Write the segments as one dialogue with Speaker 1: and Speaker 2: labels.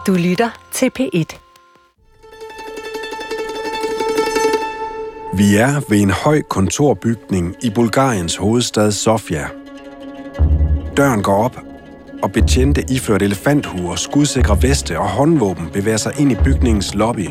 Speaker 1: Du lytter til P1.
Speaker 2: Vi er ved en høj kontorbygning i Bulgariens hovedstad Sofia. Døren går op, og betjente iført elefanthuer, skudsikre veste og håndvåben bevæger sig ind i bygningens lobby.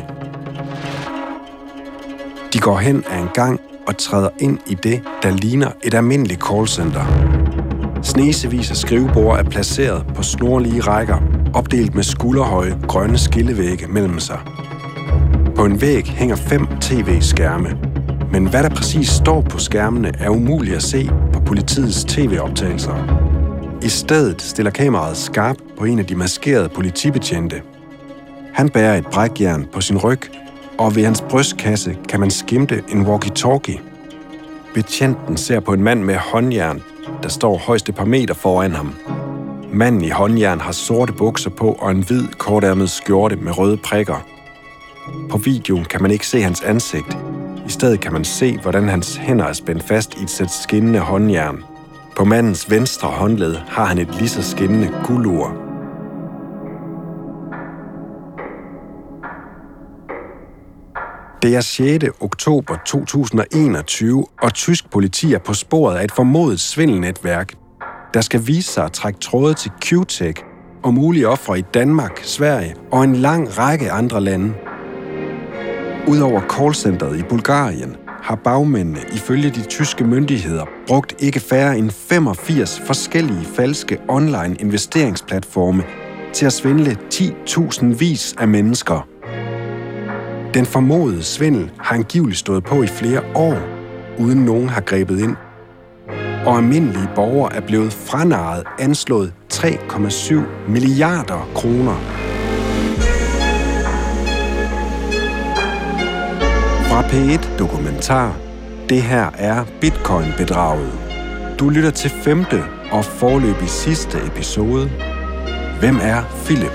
Speaker 2: De går hen ad en gang og træder ind i det, der ligner et almindeligt callcenter. Snesevis af skriveborde er placeret på snorlige rækker, opdelt med skulderhøje grønne skillevægge mellem sig. På en væg hænger 5 tv-skærme, men hvad der præcis står på skærmene er umuligt at se på politiets tv-optagelser. I stedet stiller kameraet skarpt på en af de maskerede politibetjente. Han bærer et brækjern på sin ryg, og ved hans brystkasse kan man skimte en walkie-talkie. Betjenten ser på en mand med håndjern, der står højst et par meter foran ham. Manden i håndjern har sorte bukser på og en hvid, kortærmet skjorte med røde prikker. På videoen kan man ikke se hans ansigt. I stedet kan man se, hvordan hans hænder er spændt fast i et sæt skinnende håndjern. På mandens venstre håndled har han et lige så skinnende guldur. Det er 6. oktober 2021, og tysk politi er på sporet af et formodet svindelnetværk, der skal vise sig at trække tråde til Q-Tech og mulige ofre i Danmark, Sverige og en lang række andre lande. Udover callcenteret i Bulgarien har bagmændene ifølge de tyske myndigheder brugt ikke færre end 85 forskellige falske online investeringsplatforme til at svindle 10.000 vis af mennesker. Den formodede svindel har angiveligt stået på i flere år, uden nogen har grebet ind. Og almindelige borgere er blevet franarret anslået 3,7 milliarder kroner. Fra P1 Dokumentar. Det her er Bitcoin-bedraget. Du lytter til 5. og foreløbig sidste episode. Hvem er Philip?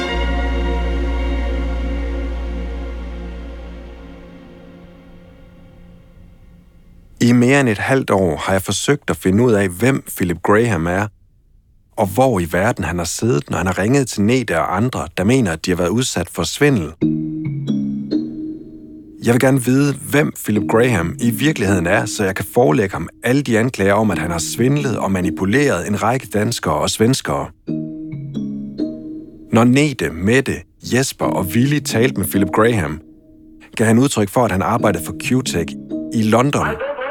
Speaker 2: I mere end et halvt år har jeg forsøgt at finde ud af, hvem Philip Graham er, og hvor i verden han har siddet, når han har ringet til Nete og andre, der mener, at de har været udsat for svindel. Jeg vil gerne vide, hvem Philip Graham i virkeligheden er, så jeg kan forelægge ham alle de anklager om, at han har svindlet og manipuleret en række danskere og svenskere. Når Nete, Mette, Jesper og Willy talte med Philip Graham, gav han udtryk for, at han arbejdede for Q-Tech i London.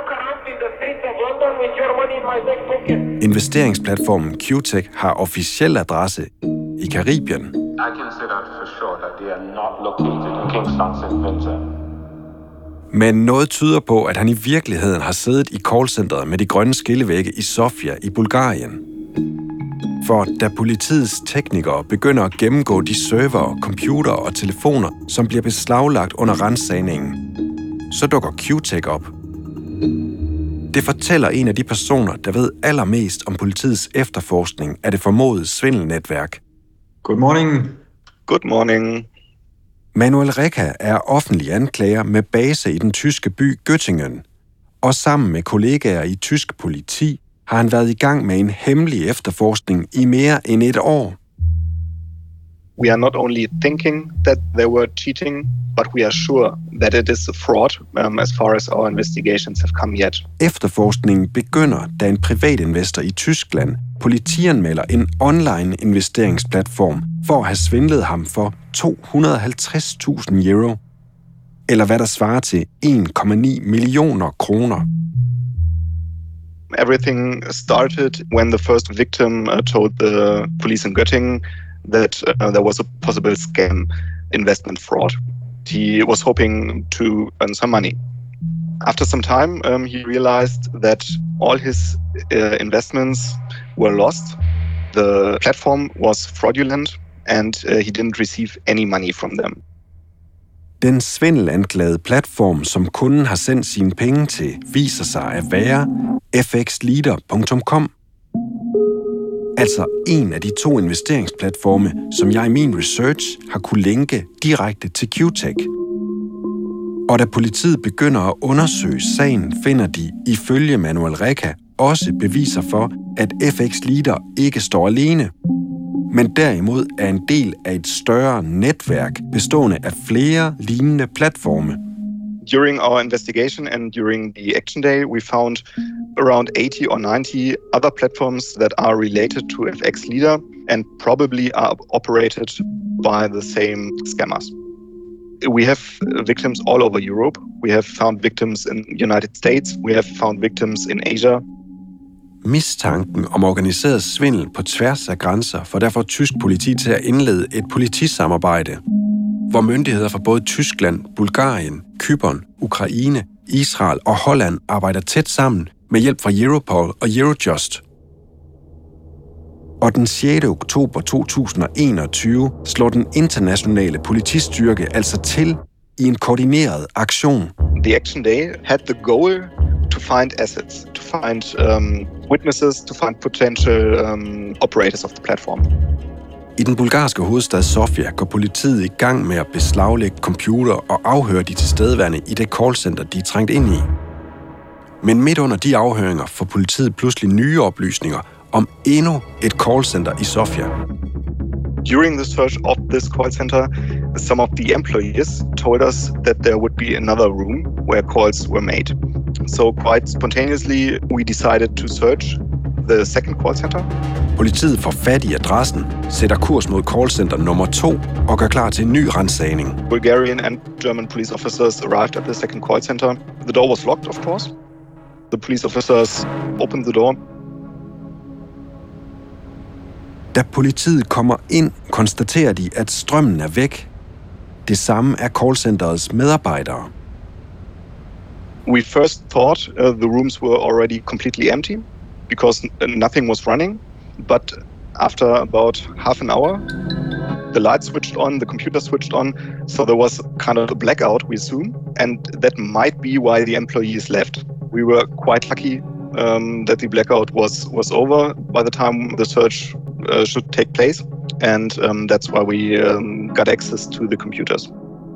Speaker 2: Investeringsplatformen Q-Tech har officiel adresse i Caribien.
Speaker 3: I consider for sure that they are not located in Kingston, St. Vincent.
Speaker 2: Men noget tyder på, at han i virkeligheden har siddet i callcenteret med de grønne skillevægge i Sofia i Bulgarien. For da politiets teknikere begynder at gennemgå de servere, computere og telefoner, som bliver beslaglagt under ransagningen, så dukker Q-Tech op. Det fortæller en af de personer, der ved allermest om politiets efterforskning af det formodede svindelnetværk.
Speaker 4: Good morning.
Speaker 3: Good morning.
Speaker 2: Manuel Recca er offentlig anklager med base i den tyske by Göttingen, og sammen med kollegaer i tysk politi har han været i gang med en hemmelig efterforskning i mere end et år.
Speaker 3: We are not only thinking that they were cheating, but we are sure that it is a fraud as far as our investigations have come yet.
Speaker 2: Efterforskningen begynder, da en privatinvestor i Tyskland politianmelder en online investeringsplatform for at have svindlet ham for 250.000 euro, eller hvad der svarer til 1,9 millioner kroner.
Speaker 3: Everything started when the first victim told the police in Göttingen that there was a possible scam investment fraud. He was hoping to earn some money. After some time, he realized that all his investments were lost. The platform was fraudulent, and he didn't receive any money from them.
Speaker 2: Den svindelanklagede platform, som kunden har sendt sine penge til, viser sig at være fxleader.com. Altså en af de 2 investeringsplatforme, som jeg i min research har kunne linke direkte til Q-Tech. Og da politiet begynder at undersøge sagen, finder de, ifølge Manuel Recca, også beviser for, at FX Leader ikke står alene. men derimod er en del af et større netværk bestående af flere lignende platforme.
Speaker 3: During our investigation and during the action day, we found around 80 or 90 other platforms that are related to FX Leader and probably are operated by the same scammers. We have victims all over Europe. We have found victims in the United States. We have found victims in Asia.
Speaker 2: Mistanken om organiseret svindel på tværs af grænser får derfor tysk politi til at indlede et politisamarbejde, hvor myndigheder fra både Tyskland, Bulgarien, Cypern, Ukraine, Israel og Holland arbejder tæt sammen med hjælp fra Europol og Eurojust. Og den 6. oktober 2021 slår den internationale politistyrke altså til i en koordineret aktion.
Speaker 3: The action day had the goal to find assets, to find witnesses, to find potential operators of the platform.
Speaker 2: I den bulgarske hovedstad Sofia går politiet i gang med at beslaglægge computer og afhøre de tilstedeværende i det callcenter, de er trængt ind i. Men midt under de afhøringer får politiet pludselig nye oplysninger om endnu et callcenter i Sofia.
Speaker 3: During the search of this call center, some of the employees told us that there would be another room where calls were made. So quite spontaneously, we decided to search the second call center.
Speaker 2: Politiet får fat i adressen, sætter kurs mod callcenter nummer 2 og gør klar til en ny ransagning.
Speaker 3: Bulgarian and German police officers arrived at the second call center. The door was locked, of course. The police officers opened the door.
Speaker 2: Da politiet kommer ind, konstaterer de, at strømmen er væk. Det samme er callcenterets medarbejdere.
Speaker 3: We first thought the rooms were already completely empty because nothing was running. But after about half an hour, the lights switched on, the computer switched on, so there was kind of a blackout, we assume, and that might be why the employees left. We were quite lucky that the blackout was over by the time the search should take place, and that's why we got access to the computers.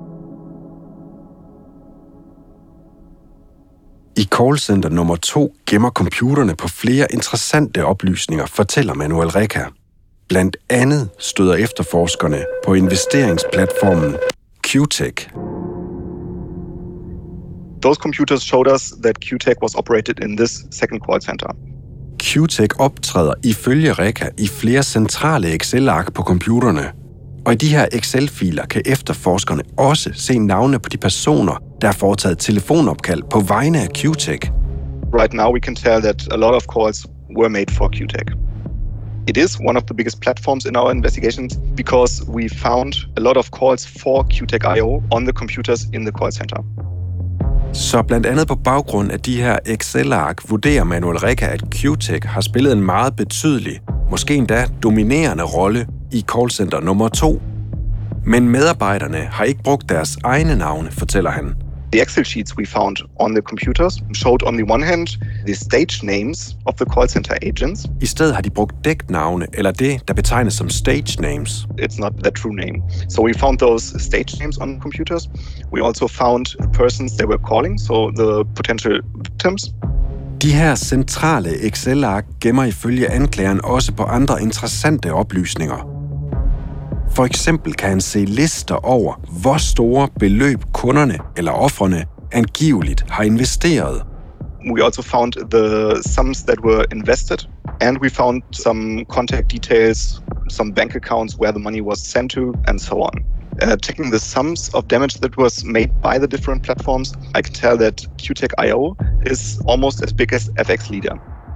Speaker 2: I callcenter nummer 2 gemmer computerne på flere interessante oplysninger, fortæller Manuel Reca. Blandt andet støder efterforskerne på investeringsplatformen QTech.
Speaker 3: Those computers showed us that QTech was operated in this second call center.
Speaker 2: QTech optræder ifølge Reca i flere centrale Excel-ark på computerne. Og i de her Excel-filer kan efterforskerne også se navne på de personer, der har foretaget telefonopkald på vegne af QTech.
Speaker 3: Right now we can tell that a lot of calls were made for QTech. It is one of the biggest platforms in our investigations because we found a lot of calls for QTech.io on the computers in the call center.
Speaker 2: Så blandt andet på baggrund af de her Excel-ark vurderer Manuel Reca, at QTech har spillet en meget betydelig, måske endda dominerende rolle i callcenter nummer 2. Men medarbejderne har ikke brugt deres egne navne, fortæller han.
Speaker 3: The Excel sheets we found on the computers showed on the one hand the stage names of the call center agents.
Speaker 2: I stedet har de brugt dæknavne, eller det, der betegnes som stage names.
Speaker 3: It's not the true name. So we found those stage names on computers. We also found the persons they were calling, so the potential victims.
Speaker 2: De her centrale Excel-ark gemmer ifølge anklageren også på andre interessante oplysninger. For eksempel kan han se lister over, hvor store beløb kunderne eller ofrene angiveligt har investeret.
Speaker 3: We also found the sums that were invested, and we found some contact details, some bank accounts where the money was sent to, and so on. Checking the sums of damage that was made by the different platforms, I can tell that QTech.io is almost as big as FX Leader.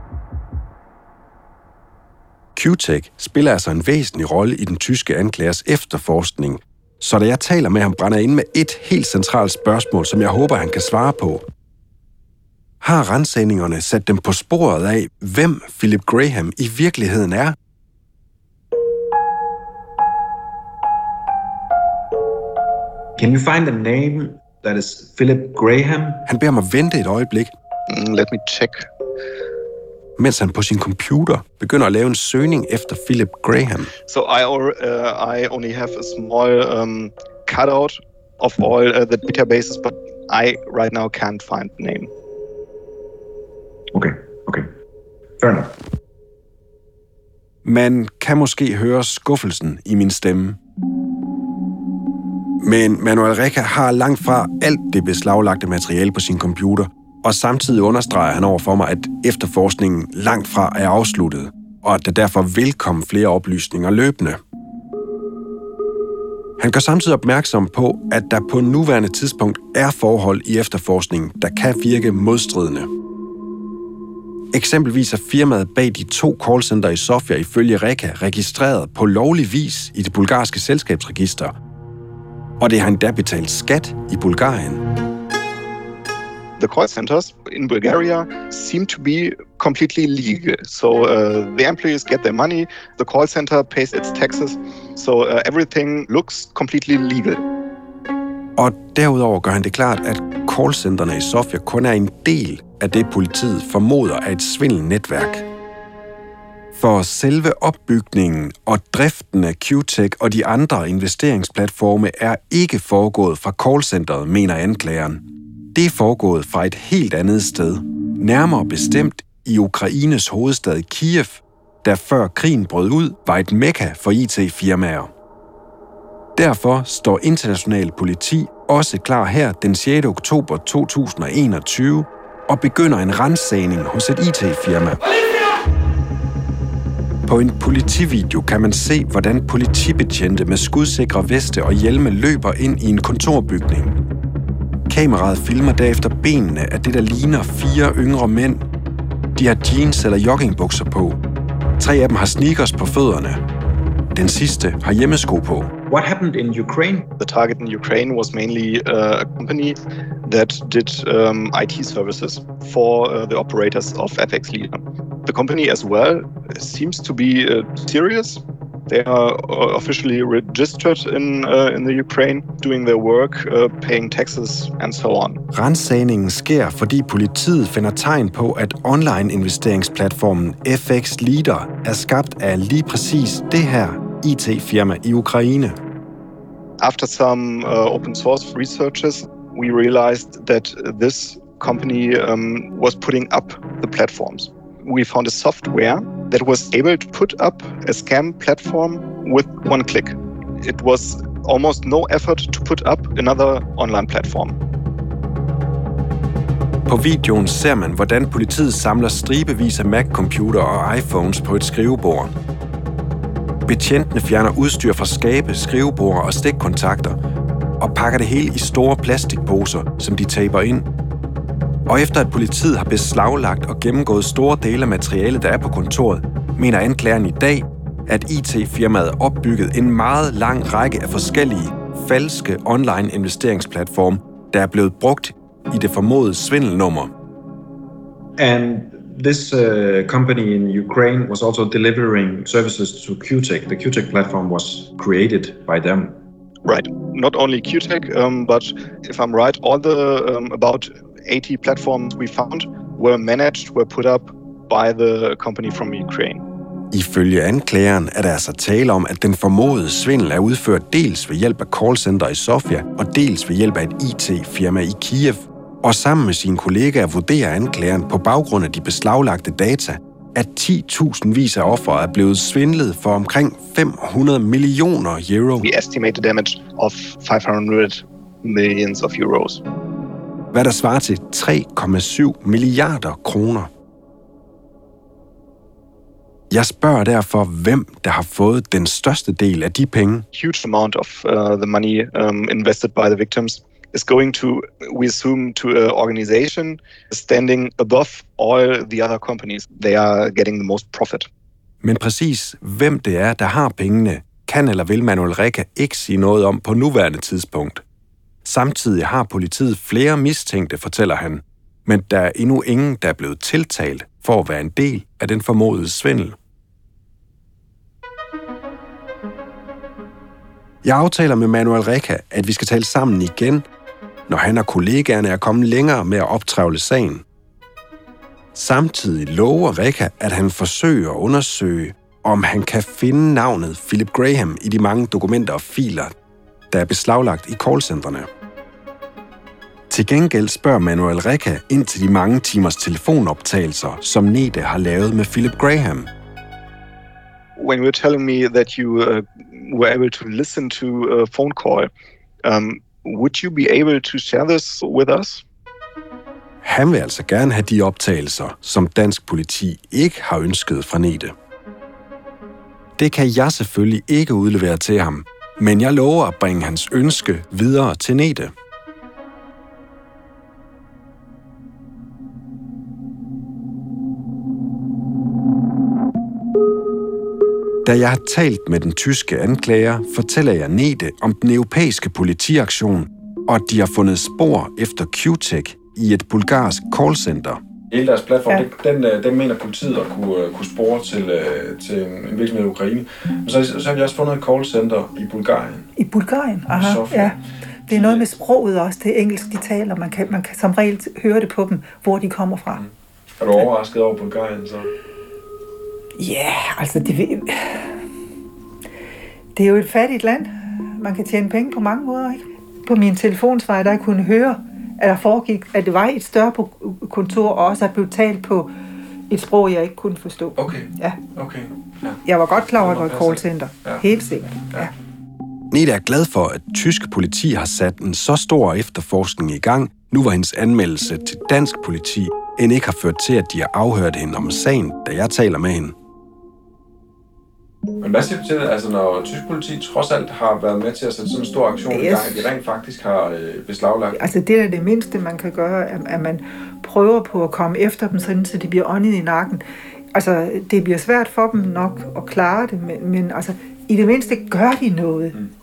Speaker 2: QTech spiller altså en væsentlig rolle i den tyske anklagers efterforskning, så da jeg taler med ham, brænder ind med et helt centralt spørgsmål, som jeg håber, han kan svare på. Har ransagningerne sat dem på sporet af, hvem Philip Graham i virkeligheden er?
Speaker 1: Can you find a name that is Philip Graham?
Speaker 2: Han beder mig vente et øjeblik.
Speaker 3: Let me check.
Speaker 2: Mens han på sin computer begynder at lave en søgning efter Philip Graham.
Speaker 3: So I only have a small cutout of all the databases, but I right now can't find the name.
Speaker 1: Okay. Fair enough.
Speaker 2: Man kan måske høre skuffelsen i min stemme. Men Manuel Reca har langt fra alt det beslaglagte materiale på sin computer, og samtidig understreger han over for mig, at efterforskningen langt fra er afsluttet, og at der derfor vil komme flere oplysninger løbende. Han gør samtidig opmærksom på, at der på nuværende tidspunkt er forhold i efterforskningen, der kan virke modstridende. Eksempelvis er firmaet bag de 2 callcenter i Sofia ifølge Reca registreret på lovlig vis i det bulgarske selskabsregister, og det har endda betalt skat i Bulgarien.
Speaker 3: The call centers in Bulgaria seem to be completely legal. So the employees get their money, the call center pays its taxes, so everything looks completely legal.
Speaker 2: Og derudover gør han det klart, at callcenterne i Sofia kun er en del af det, politiet formoder er et svindelnetværk. For selve opbygningen og driften af QTech og de andre investeringsplatforme er ikke foregået fra callcenteret, mener anklageren. Det er foregået fra et helt andet sted, nærmere bestemt i Ukraines hovedstad Kiev, der før krigen brød ud, var et mekka for IT-firmaer. Derfor står international politi også klar her den 6. oktober 2021 og begynder en ransagning hos et IT-firma. På en politivideo kan man se, hvordan politibetjente med skudsikre veste og hjelme løber ind i en kontorbygning. Kameraet filmer derefter benene af det, der ligner 4 yngre mænd. De har jeans eller joggingbukser på. 3 af dem har sneakers på fødderne. Den sidste har hjemmesko på.
Speaker 1: What happened in Ukraine?
Speaker 3: The target in Ukraine was mainly a company that did IT services for the operators of FX Leader. The company as well seems to be serious. They are officially registered in the Ukraine, doing their work, paying taxes and so on.
Speaker 2: Ransagningen sker, fordi politiet finder tegn på, at online-investeringsplatformen FX Leader er skabt af lige præcis det her IT-firma i Ukraine.
Speaker 3: After some open source researches, we realized that this company was putting up the platforms. We found a software that was able to put up a scam platform with one click. It was almost no effort to put up another online platform.
Speaker 2: På videoen ser man, hvordan politiet samler stribevis af Mac-computer og iPhones på et skrivebord. Betjentene fjerner udstyr fra skabe, skrivebord og stikkontakter og pakker det hele i store plastikposer, som de taper ind. Og efter at politiet har beslaglagt og gennemgået store dele af materialet, der er på kontoret, mener anklageren i dag, at IT-firmaet opbygget en meget lang række af forskellige falske online-investeringsplatforme, der er blevet brugt i det formodede svindelnummer.
Speaker 1: And this company in Ukraine was also delivering services to QTech. The QTech platform was created by them.
Speaker 3: Right. Not only QTech, but if I'm right, all the about 80 platforms we found were put up by the company from Ukraine.
Speaker 2: Ifølge anklageren er der altså tale om, at den formodede svindel er udført dels ved hjælp af callcenter i Sofia og dels ved hjælp af et IT-firma i Kiev. Og sammen med sine kollegaer vurderer anklageren på baggrund af de beslaglagte data, at 10.000 af ofre er blevet svindlet for omkring 500 millioner euro.
Speaker 3: We estimate the damage of 500 millions of euros.
Speaker 2: Hvad der svarer til 3,7 milliarder kroner. Jeg spørger derfor, hvem der har fået den største del af de penge.
Speaker 3: Huge amount of the money invested by the victims is going to, we assume, to an organization standing above all the other companies. They are getting the most profit.
Speaker 2: Men præcis hvem det er, der har pengene, kan eller vil Manuel Reca ikke sige noget om på nuværende tidspunkt. Samtidig har politiet flere mistænkte, fortæller han, men der er endnu ingen, der er blevet tiltalt for at være en del af den formodede svindel. Jeg aftaler med Manuel Reca, at vi skal tale sammen igen, når han og kollegaerne er kommet længere med at optrævle sagen. Samtidig lover Reca, at han forsøger at undersøge, om han kan finde navnet Philip Graham i de mange dokumenter og filer, der er beslaglagt i callcentrene. Til gengæld spørger Manuel Reca ind til de mange timers telefonoptagelser, som Nede har lavet med Philip Graham.
Speaker 3: when you were telling me that you were able to listen to a phone call, would you be able to share this with us?
Speaker 2: Han vil altså gerne have de optagelser, som dansk politi ikke har ønsket fra Nete. Det kan jeg selvfølgelig ikke udlevere til ham, men jeg lover at bringe hans ønske videre til Nete. Da jeg har talt med den tyske anklager, fortæller jeg Nete om den europæiske politiaktion, og at de har fundet spor efter Q-Tech i et bulgarsk callcenter.
Speaker 4: Hele deres platform, den mener politiet at kunne spore til en virksomhed i Ukraine. Men så har vi også fundet et callcenter i Bulgarien.
Speaker 5: I Bulgarien? Aha, ja. Det er noget med sproget også, det engelsk, de taler. Man kan som regel høre det på dem, hvor de kommer fra.
Speaker 4: Er du overrasket over Bulgarien så?
Speaker 5: Ja, altså det er jo et fattigt land. Man kan tjene penge på mange måder, ikke? På min telefonsvar, der kunne høre, at der foregik, at det var et større kontor, og også at blev talt på et sprog, jeg ikke kunne forstå.
Speaker 4: Okay.
Speaker 5: Ja.
Speaker 4: Okay. Ja.
Speaker 5: Jeg var godt klar over, at det var et callcenter. Ja. Helt sikkert. Ja.
Speaker 2: Nete er glad for, at tysk politi har sat en så stor efterforskning i gang, nu hvor hendes anmeldelse til dansk politi end ikke har ført til, at de har afhørt hende om sagen, da jeg taler med hende.
Speaker 4: Men hvad siger du til det, altså når tysk politi trods alt har været med til at sætte sådan en stor aktion i gang, at de rent faktisk har beslaglagt?
Speaker 5: Altså det er det mindste, man kan gøre, at man prøver på at komme efter dem, sådan, så de bliver åndet i nakken. Altså det bliver svært for dem nok at klare det, men altså i det mindste gør de noget. Mm.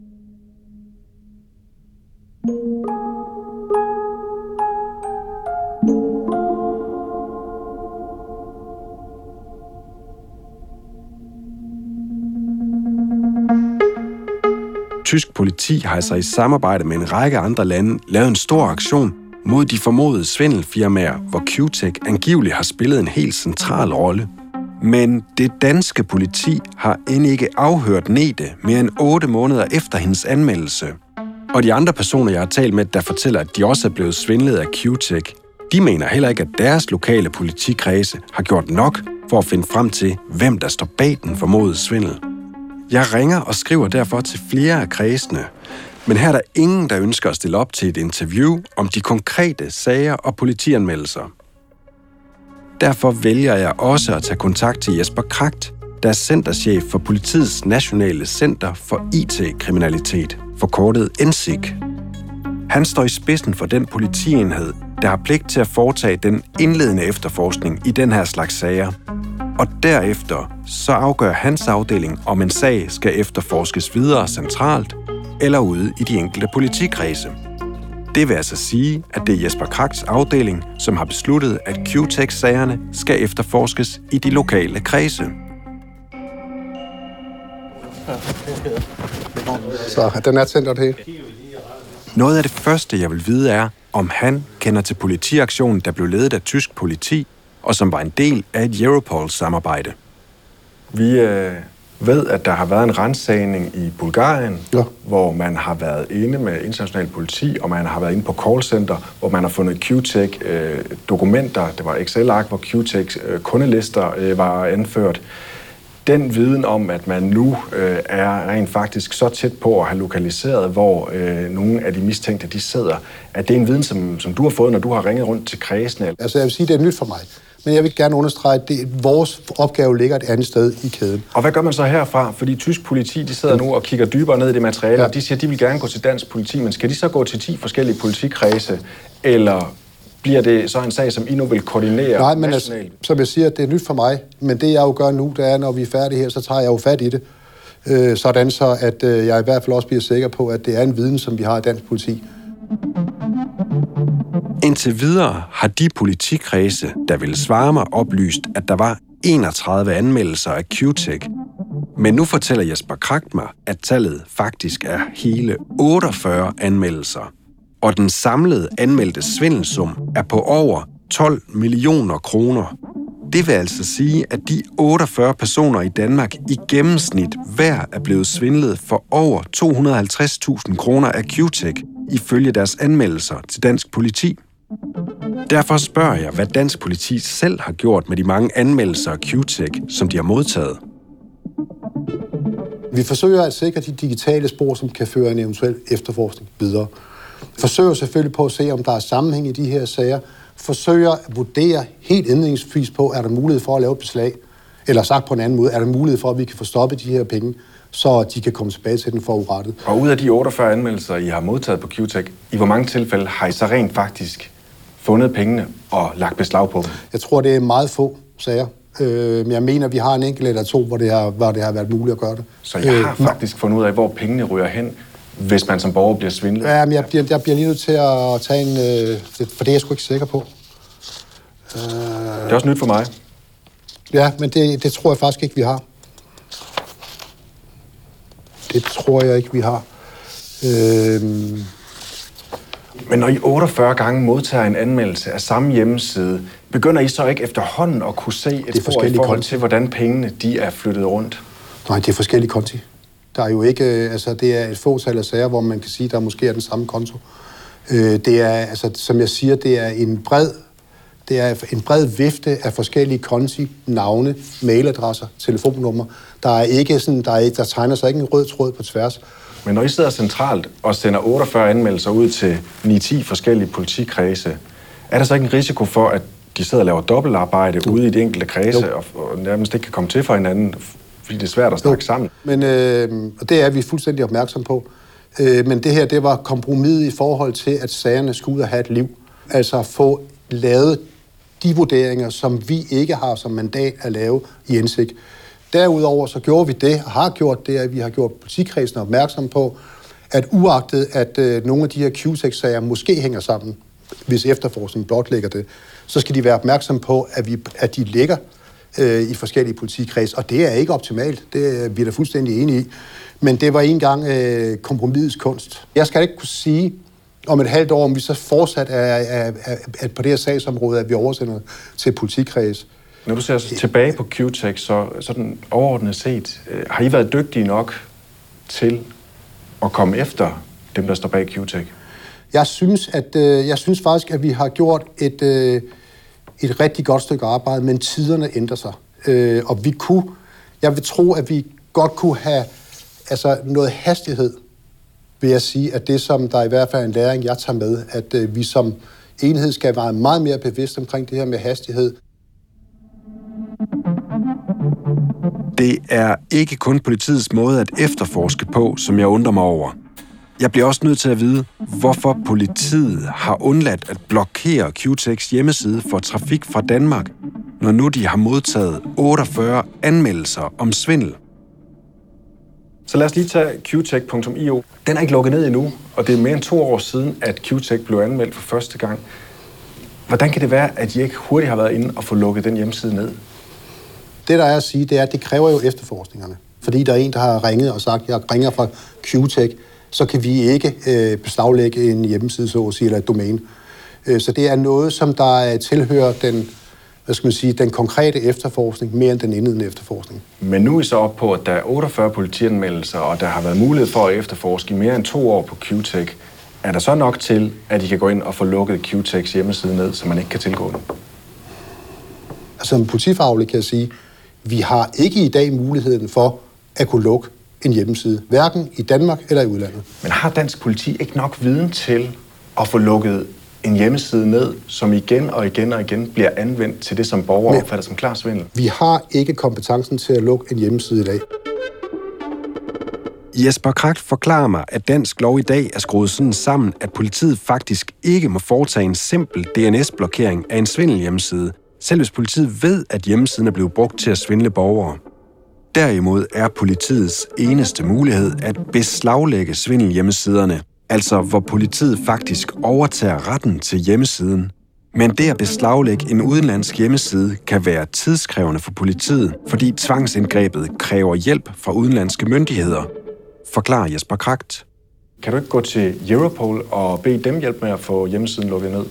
Speaker 2: Tysk politi har altså i samarbejde med en række andre lande lavet en stor aktion mod de formodede svindelfirmaer, hvor Q-Tech angiveligt har spillet en helt central rolle. Men det danske politi har end ikke afhørt Nete mere end 8 måneder efter hendes anmeldelse. Og de andre personer, jeg har talt med, der fortæller, at de også er blevet svindlet af Q-Tech, de mener heller ikke, at deres lokale politikredse har gjort nok for at finde frem til, hvem der står bag den formodede svindel. Jeg ringer og skriver derfor til flere af kredsene, men her er der ingen, der ønsker at stille op til et interview om de konkrete sager og politianmeldelser. Derfor vælger jeg også at tage kontakt til Jesper Kragt, der er centerchef for Politiets Nationale Center for IT-kriminalitet, forkortet NCIK. Han står i spidsen for den politienhed, der har pligt til at foretage den indledende efterforskning i den her slags sager. Og derefter så afgør hans afdeling, om en sag skal efterforskes videre centralt eller ude i de enkelte politikredse. Det vil altså sige, at det er Jesper Kragts afdeling, som har besluttet, at Q-Tech-sagerne skal efterforskes i de lokale kredse.
Speaker 6: Så den er centret her.
Speaker 2: Noget af det første, jeg vil vide, er, om han kender til politiaktionen, der blev ledet af tysk politi, og som var en del af et Europol-samarbejde.
Speaker 4: Vi ved, at der har været en ransagning i Bulgarien, hvor man har været inde med international politi, og man har været inde på callcenter, hvor man har fundet Q-Tech-dokumenter. Det var Excel-ark, hvor Q-Tech-kundelister var anført. Den viden om, at man nu er rent faktisk så tæt på at have lokaliseret, hvor nogle af de mistænkte de sidder, at det er en viden, som du har fået, når du har ringet rundt til kredsene?
Speaker 6: Altså jeg vil sige, det er nyt for mig. Men jeg vil gerne understrege, at vores opgave ligger et andet sted i kæden.
Speaker 4: Og hvad gør man så herfra? Fordi tysk politi, de sidder nu og kigger dybere ned i det materiale, og de siger, at de vil gerne gå til dansk politi, men skal de så gå til 10 forskellige politikredse, eller bliver det så en sag, som I nu vil koordinere?
Speaker 6: Nej, men altså, som jeg siger, det er nyt for mig, men det jeg jo gør nu, det er, når vi er færdige her, så tager jeg jo fat i det, sådan så, at jeg i hvert fald også bliver sikker på, at det er en viden, som vi har i dansk politi.
Speaker 2: Indtil videre har de politikredse, der ville svare mig, oplyst, at der var 31 anmeldelser af Q-Tech. Men nu fortæller Jesper Kragt mig, at tallet faktisk er hele 48 anmeldelser. Og den samlede anmeldte svindelsum er på over 12 millioner kroner. Det vil altså sige, at de 48 personer i Danmark i gennemsnit hver er blevet svindlet for over 250.000 kroner af Q-Tech, ifølge deres anmeldelser til dansk politi. Derfor spørger jeg, hvad dansk politi selv har gjort med de mange anmeldelser af Q-Tech, som de har modtaget.
Speaker 6: Vi forsøger at sikre de digitale spor, som kan føre en eventuel efterforskning videre. Forsøger selvfølgelig på at se, om der er sammenhæng i de her sager. Forsøger at vurdere helt indledningsvis på, er der mulighed for at lave et beslag? Eller sagt på en anden måde, er der mulighed for, at vi kan få stoppet de her penge, så de kan komme tilbage til den forurettede?
Speaker 4: Og ud af de 48 anmeldelser, I har modtaget på QTech, i hvor mange tilfælde har I så rent faktisk fundet pengene og lagt beslag på dem?
Speaker 6: Jeg tror, det er meget få sager. Men jeg mener, vi har en enkelt eller to, hvor det har været muligt at gøre det.
Speaker 4: Så jeg har faktisk fundet ud af, hvor pengene ryger hen, hvis man som borger bliver svindlet?
Speaker 6: Ja, men jeg bliver lige nødt til at tage en... For det er jeg sgu ikke sikker på.
Speaker 4: Det er også nyt for mig.
Speaker 6: Ja, men det tror jeg faktisk ikke, vi har. Det tror jeg ikke, vi har.
Speaker 4: Men når I 48 gange modtager en anmeldelse af samme hjemmeside, begynder I så ikke efterhånden at kunne se et spor i forhold til, hvordan pengene de er flyttet rundt?
Speaker 6: Nej, det er forskellige konti. Der er jo ikke, altså det er et fåtal af sager, hvor man kan sige, der måske er den samme konto. Det er, altså som jeg siger, det er en bred vifte af forskellige konti, navne, mailadresser, telefonnummer. Der er ikke sådan, der tegner sig ikke en rød tråd på tværs.
Speaker 4: Men når I sidder centralt og sender 48 anmeldelser ud til 9-10 forskellige politikredse, er der så ikke en risiko for, at de sidder og laver dobbeltarbejde ude i de enkelte kredse og nærmest ikke kan komme til for hinanden, fordi det er svært at snakke sammen?
Speaker 6: Men det er vi fuldstændig opmærksom på. Men det her, det var kompromiset i forhold til, at sagerne skulle ud og have et liv. Altså få lavet de vurderinger, som vi ikke har som mandat at lave i indsigt. Derudover så gjorde vi det, og har gjort det, at vi har gjort politikredsen opmærksom på, at uagtet at nogle af de her QTech-sager måske hænger sammen, hvis efterforskningen blotlægger det, så skal de være opmærksom på, at de ligger i forskellige politikreds. Og det er ikke optimalt, det er vi da fuldstændig enige i. Men det var engang kompromisets kunst. Jeg skal ikke kunne sige om et halvt år, om vi så fortsat er på det her sagsområde, at vi oversender til politikreds.
Speaker 4: Når du ser tilbage på QTech, så sådan overordnet set, har I været dygtige nok til at komme efter dem, der står bag QTech? Jeg
Speaker 6: synes faktisk, at vi har gjort et rigtig godt stykke arbejde, men tiderne ændrer sig. Og jeg vil tro, at vi godt kunne have noget hastighed, vil jeg sige, at det, som der i hvert fald er en læring, jeg tager med, at vi som enhed skal være meget mere bevidst omkring det her med hastighed.
Speaker 2: Det er ikke kun politiets måde at efterforske på, som jeg undrer mig over. Jeg bliver også nødt til at vide, hvorfor politiet har undladt at blokere QTechs hjemmeside for trafik fra Danmark, når nu de har modtaget 48 anmeldelser om svindel.
Speaker 4: Så lad os lige tage qtech.io. Den er ikke lukket ned endnu, og det er mere end 2 år siden, at QTech blev anmeldt for første gang. Hvordan kan det være, at I ikke hurtigt har været inde og få lukket den hjemmeside ned?
Speaker 6: Det, der er at sige, det er, at det kræver jo efterforskningerne. Fordi der er en, der har ringet og sagt, jeg ringer fra QTech, så kan vi ikke beslaglægge en hjemmeside, så at sige, eller et domæne. Så det er noget, som der tilhører den konkrete efterforskning, mere end den indledende efterforskning.
Speaker 4: Men nu er I så op på, at der er 48 politianmeldelser, og der har været mulighed for at efterforske i mere end 2 år på QTech. Er der så nok til, at I kan gå ind og få lukket QTechs hjemmeside ned, så man ikke kan tilgå den?
Speaker 6: Som politifaglig kan jeg sige, vi har ikke i dag muligheden for at kunne lukke en hjemmeside, hverken i Danmark eller i udlandet.
Speaker 4: Men har dansk politi ikke nok viden til at få lukket en hjemmeside ned, som igen og igen og igen bliver anvendt til det, som borgere opfatter som klar svindel?
Speaker 6: Vi har ikke kompetencen til at lukke en hjemmeside i dag.
Speaker 2: Jesper Kragt forklarer mig, at dansk lov i dag er skruet sådan sammen, at politiet faktisk ikke må foretage en simpel DNS-blokering af en svindelhjemmeside, selv hvis politiet ved, at hjemmesiden er blevet brugt til at svindle borgere. Derimod er politiets eneste mulighed at beslaglægge svindelhjemmesiderne, altså hvor politiet faktisk overtager retten til hjemmesiden. Men det at beslaglægge en udenlandsk hjemmeside kan være tidskrævende for politiet, fordi tvangsindgrebet kræver hjælp fra udenlandske myndigheder, forklarer Jesper Kragt.
Speaker 4: Kan du ikke gå til Europol og bede dem hjælpe med at få hjemmesiden lukket ned?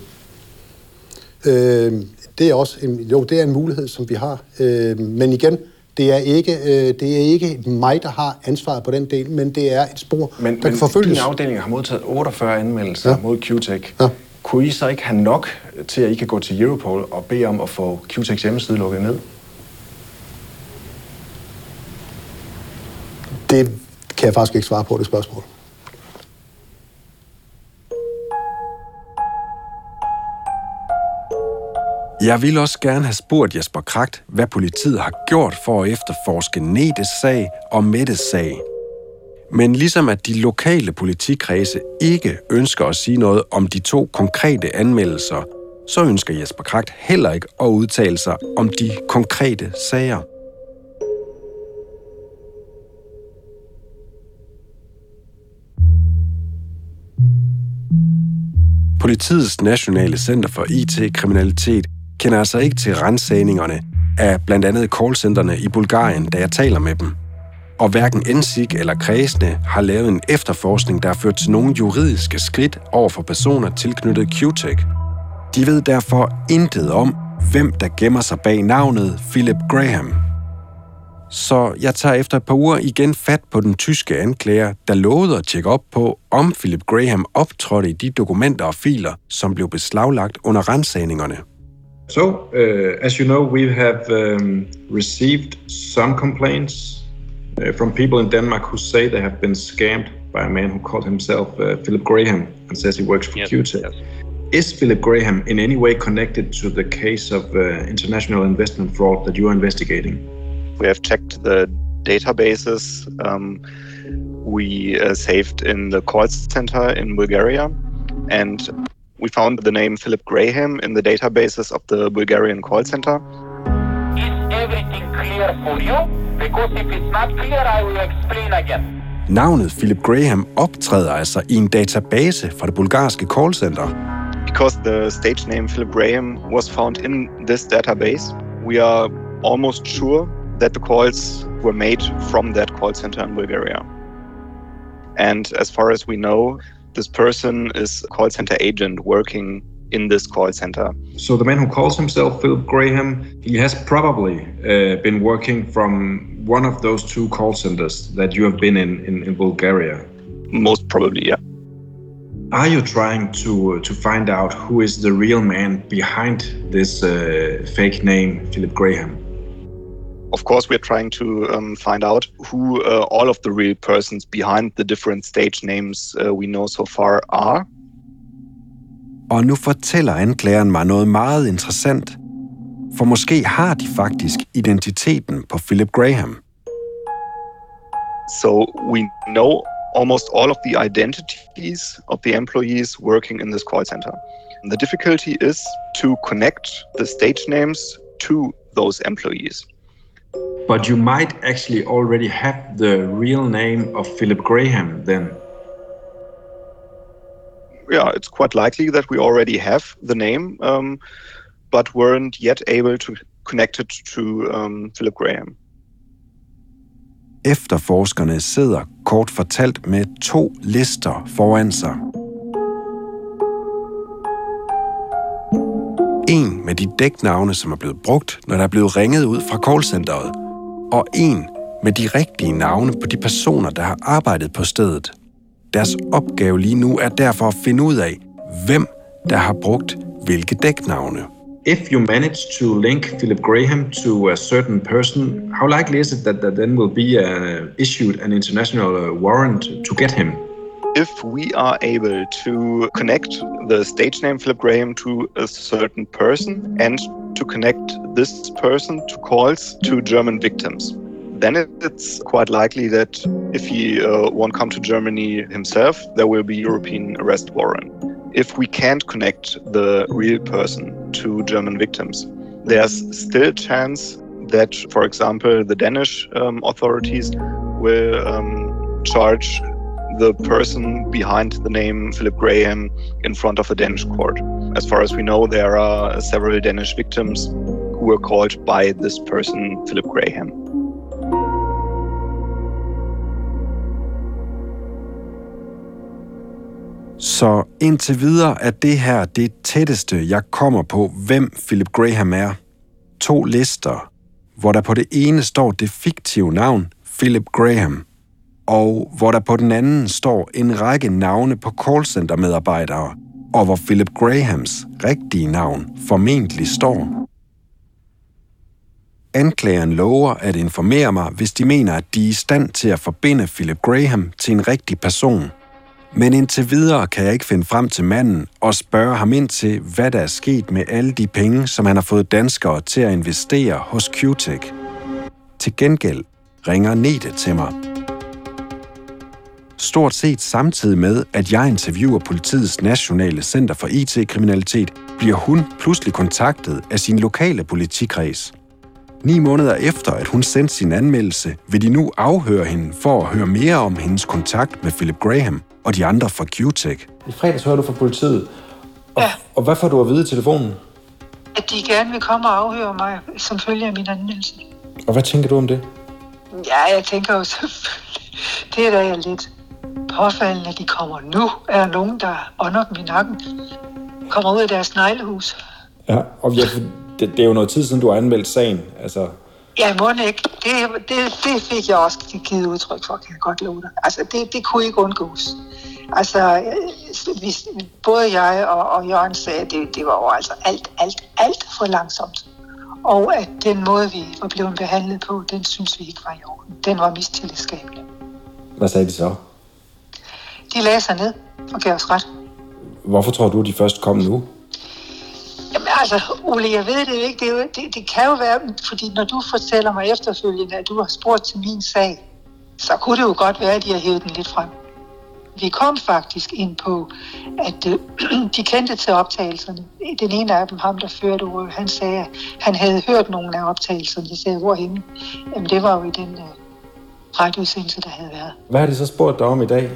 Speaker 6: Det er også det er en mulighed, som vi har. Men igen, det er ikke mig, der har ansvaret på den del, men det er et spor, der kan forfølges.
Speaker 4: Men din afdeling har modtaget 48 anmeldelser mod QTech. Ja. Kunne I så ikke have nok til, at I kan gå til Europol og bede om at få QTechs hjemmeside lukket ned?
Speaker 6: Det kan jeg faktisk ikke svare på, det spørgsmål.
Speaker 2: Jeg ville også gerne have spurgt Jesper Kracht, hvad politiet har gjort for at efterforske Nedes sag og Mettes sag. Men ligesom at de lokale politikredse ikke ønsker at sige noget om de 2 konkrete anmeldelser, så ønsker Jesper Kracht heller ikke at udtale sig om de konkrete sager. Politiets Nationale Center for IT-kriminalitet kender altså ikke til ransagningerne af blandt andet callcentrene i Bulgarien, da jeg taler med dem. Og hverken NSIK eller kredsene har lavet en efterforskning, der har ført til nogle juridiske skridt over for personer tilknyttet QTech. De ved derfor intet om, hvem der gemmer sig bag navnet Philip Graham. Så jeg tager efter et par uger igen fat på den tyske anklager, der lovede at tjekke op på, om Philip Graham optrådte i de dokumenter og filer, som blev beslaglagt under ransagningerne.
Speaker 1: So, as you know, we have received some complaints from people in Denmark who say they have been scammed by a man who called himself Philip Graham and says he works for QTech. Yes. Is Philip Graham in any way connected to the case of international investment fraud that you are investigating?
Speaker 3: We have checked the databases we saved in the call center in Bulgaria, and we found the name Philip Graham in the databases of the Bulgarian call center.
Speaker 7: Is everything clear for you? Because if it's not clear, I will explain again.
Speaker 2: Navnet Philip Graham optræder altså i en database fra det bulgarske callcenter.
Speaker 3: Because the stage name Philip Graham was found in this database, we are almost sure that the calls were made from that call center in Bulgaria. And as far as we know, this person is a call center agent working in this call center.
Speaker 1: So the man who calls himself Philip Graham, he has probably been working from one of those 2 call centers that you have been in Bulgaria.
Speaker 3: Most probably, yeah.
Speaker 1: Are you trying to find out who is the real man behind this fake name, Philip Graham?
Speaker 3: Of course, we're trying to find out who all of the real persons behind the different stage names we know so far are.
Speaker 2: Og nu fortæller anklageren mig noget meget interessant. For måske har de faktisk identiteten på Philip Graham.
Speaker 3: So we know almost all of the identities of the employees working in this call center. The difficulty is to connect the stage names to those employees.
Speaker 1: But you might actually already have the real name of Philip Graham then.
Speaker 3: Yeah, it's quite likely that we already have the name, but weren't yet able to connect it to Philip Graham.
Speaker 2: Efterforskerne sidder kort fortalt med 2 lister foran sig. En med de dæknavne, som er blevet brugt, når der er blevet ringet ud fra callcenteret, og en med de rigtige navne på de personer, der har arbejdet på stedet. Deres opgave lige nu er derfor at finde ud af, hvem der har brugt hvilke dæknavne.
Speaker 1: If you manage to link Philip Graham to a certain person, how likely is it that then will be issued an international warrant to get him?
Speaker 3: If we are able to connect the stage name Philip Graham to a certain person and to connect this person to calls to German victims, then it's quite likely that if he won't come to Germany himself, there will be European arrest warrant. If we can't connect the real person to German victims, there's still a chance that, for example, the Danish authorities will charge the person behind the name Philip Graham in front of a Danish court. As far as we know, there are several Danish victims who were called by this person, Philip Graham.
Speaker 2: Så indtil videre er det her det tætteste, jeg kommer på, hvem Philip Graham er. 2 lister, hvor der på det ene står det fiktive navn Philip Graham, og hvor der på den anden står en række navne på callcenter-medarbejdere, og hvor Philip Grahams rigtige navn formentlig står. Anklageren lover at informere mig, hvis de mener, at de er i stand til at forbinde Philip Graham til en rigtig person. Men indtil videre kan jeg ikke finde frem til manden og spørge ham ind til, hvad der er sket med alle de penge, som han har fået danskere til at investere hos Q-Tech. Til gengæld ringer Nete til mig. Stort set samtidig med, at jeg interviewer Politiets Nationale Center for IT-kriminalitet, bliver hun pludselig kontaktet af sin lokale politikreds. 9 måneder efter, at hun sendte sin anmeldelse, vil de nu afhøre hende for at høre mere om hendes kontakt med Philip Graham og de andre fra Q-Tech.
Speaker 4: I fredags hører du fra politiet.
Speaker 5: Ja.
Speaker 4: Og hvad får du at vide i telefonen?
Speaker 5: At de gerne vil komme og afhøre mig, som følge af min anmeldelse.
Speaker 4: Og hvad tænker du om det?
Speaker 5: Ja, jeg tænker jo selvfølgelig, det er da jeg lidt påfaldende, at de kommer nu. Er der nogen, der ånder dem i nakken? Kommer ud af deres neglehus.
Speaker 4: Ja, og det er jo noget tid siden, du har anmeldt sagen. Altså...
Speaker 5: Ja, må ikke. Det fik jeg også givet udtryk for, kan jeg godt love dig. Altså, det kunne ikke undgås. Altså, både jeg og Jørgen sagde, at det var jo altså alt for langsomt. Og at den måde, vi var blevet behandlet på, den synes vi ikke var i orden. Den var mistillidsskabende.
Speaker 4: Hvad sagde de så?
Speaker 5: De lagde sig ned og gav os ret.
Speaker 4: Hvorfor tror du, de først kom nu?
Speaker 5: Jamen altså, Ole, jeg ved det jo ikke. Det kan jo være, fordi når du fortæller mig efterfølgende, at du har spurgt til min sag, så kunne det jo godt være, at de har hævet den lidt frem. Vi kom faktisk ind på, at de kendte til optagelserne. Den ene af dem, ham der førte ordet, han sagde, at han havde hørt nogle af optagelserne. Jeg sagde, hvorhenne? Jamen det var jo i den radioudsendelse, der havde været.
Speaker 4: Hvad har de så spurgt dig om i dag?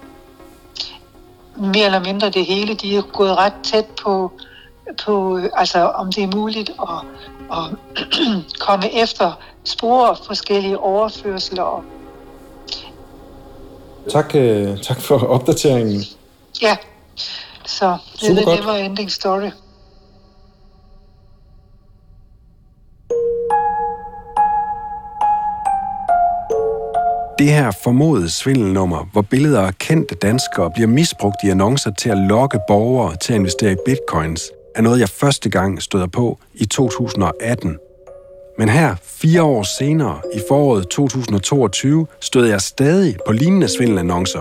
Speaker 5: Mere eller mindre det hele. De er gået ret tæt på altså om det er muligt at komme efter spore og forskellige overførsler.
Speaker 4: Tak for opdateringen.
Speaker 5: Ja, så det var ending story.
Speaker 2: Det her formodede svindelnummer, hvor billeder af kendte danskere bliver misbrugt i annoncer til at lokke borgere til at investere i bitcoins, er noget, jeg første gang støder på i 2018. Men her, 4 år senere, i foråret 2022, støder jeg stadig på lignende svindelannoncer.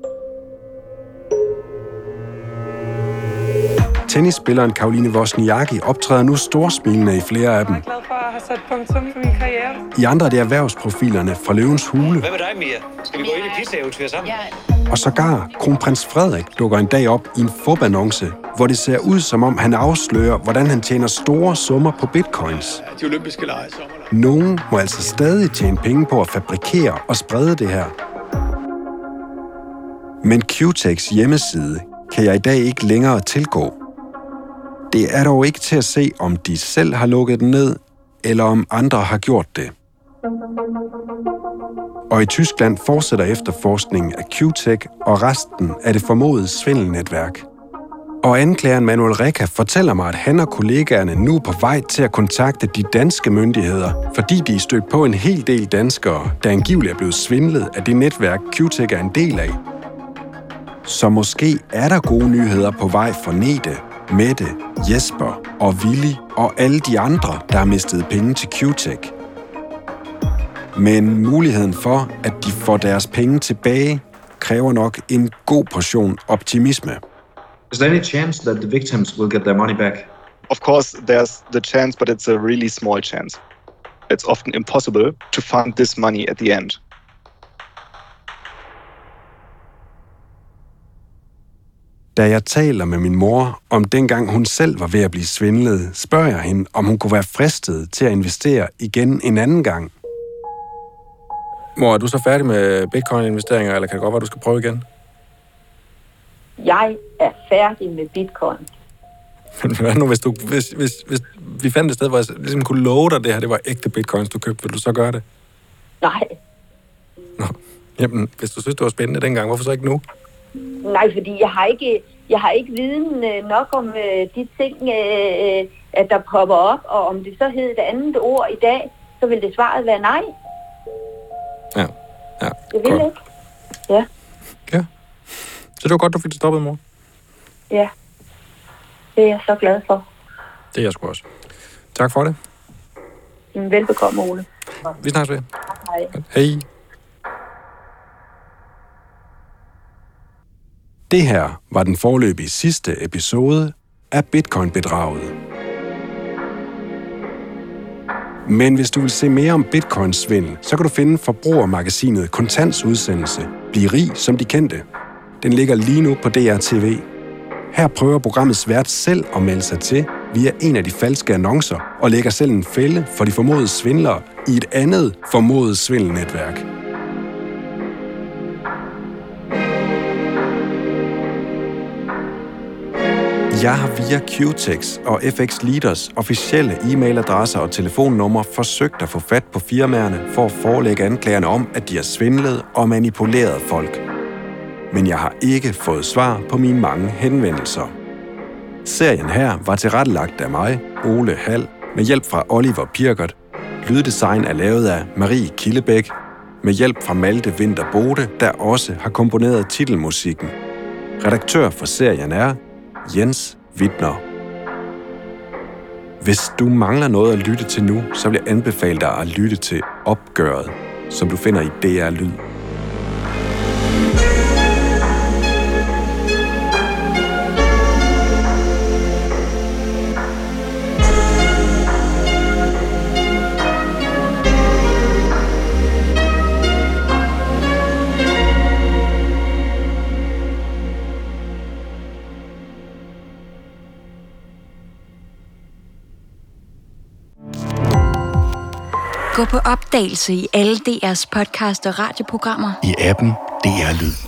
Speaker 2: Tennisspilleren Caroline Wozniacki optræder nu storsmilende i flere af dem.
Speaker 8: Jeg er glad for at have sat punktum for min karriere.
Speaker 2: I andre er det erhvervsprofilerne fra Løvens Hule.
Speaker 9: Hvad med dig, Mia? Skal vi gå ind i pizza-eventyr sammen?
Speaker 2: Og sågar kronprins Frederik dukker en dag op i en fupannonce, hvor det ser ud som om han afslører, hvordan han tjener store summer på bitcoins.
Speaker 9: De olympiske lege sommer.
Speaker 2: Nogen må altså stadig tjene penge på at fabrikere og sprede det her. Men Q-Techs hjemmeside kan jeg i dag ikke længere tilgå. Det er dog ikke til at se, om de selv har lukket den ned, eller om andre har gjort det. Og i Tyskland fortsætter efterforskningen af Q-Tech og resten af det formodede svindelnetværk. Og anklageren Manuel Recca fortæller mig, at han og kollegaerne nu er på vej til at kontakte de danske myndigheder, fordi de er stødt på en hel del danskere, der angiveligt er blevet svindlet af det netværk, Q-Tech er en del af. Så måske er der gode nyheder på vej for Nete, Mette, Jesper og Willy og alle de andre, der har mistet penge til Q-Tech. Men muligheden for, at de får deres penge tilbage, kræver nok en god portion optimisme.
Speaker 1: Is there any chance that the victims will get their money back?
Speaker 3: Of course, there's the chance, but it's a really small chance. It's often impossible to find this money at the end.
Speaker 2: Da jeg taler med min mor om dengang hun selv var ved at blive svindlet, spørger jeg hende, om hun kunne være fristet til at investere igen en anden gang.
Speaker 4: Mor, er du så færdig med bitcoin-investeringer, eller kan det godt være, du skal prøve igen?
Speaker 10: Jeg er færdig med bitcoin.
Speaker 4: Men hvad nu, hvis vi fandt et sted, hvor jeg ligesom kunne love dig det her, det var ægte bitcoins, du købte, vil du så gøre det?
Speaker 10: Nej.
Speaker 4: Nå, jamen, hvis du synes, det var spændende dengang, hvorfor så ikke nu?
Speaker 10: Nej, fordi jeg har ikke viden nok om de ting, at der popper op, og om det så hed et andet ord i dag, så vil det svaret være nej.
Speaker 4: Ja.
Speaker 10: Jeg vil ikke. Ja.
Speaker 4: Ja. Så det var godt, du fik det stoppet, mor.
Speaker 10: Ja. Det er jeg så glad for.
Speaker 4: Det er jeg sgu også. Tak for det.
Speaker 10: Velbekomme, Ole.
Speaker 4: Vi snakkes ved.
Speaker 10: Hej.
Speaker 4: Hej.
Speaker 2: Det her var den foreløbige sidste episode af Bitcoin-bedraget. Men hvis du vil se mere om Bitcoin-svindel, så kan du finde forbrugermagasinet Kontants udsendelse Bliv rig som de kendte. Den ligger lige nu på DRTV. Her prøver programmets vært selv at melde sig til via en af de falske annoncer og lægger selv en fælde for de formodede svindlere i et andet formodet svindelnetværk. Jeg har via QTex og FX Leaders officielle e-mailadresser og telefonnumre forsøgt at få fat på firmaerne for at forelægge anklagerne om, at de har svindlet og manipuleret folk. Men jeg har ikke fået svar på mine mange henvendelser. Serien her var tilrettelagt af mig, Ole Hall, med hjælp fra Oliver Pirkert. Lyddesign er lavet af Marie Killebæk, med hjælp fra Malte Winther Bode, der også har komponeret titelmusikken. Redaktør for serien er Jens Wittner. Hvis du mangler noget at lytte til nu, så vil jeg anbefale dig at lytte til Opgøret, som du finder i DR Lyd.
Speaker 11: Gå på opdagelse i alle DR's podcast og radioprogrammer.
Speaker 12: I appen DR Lyd.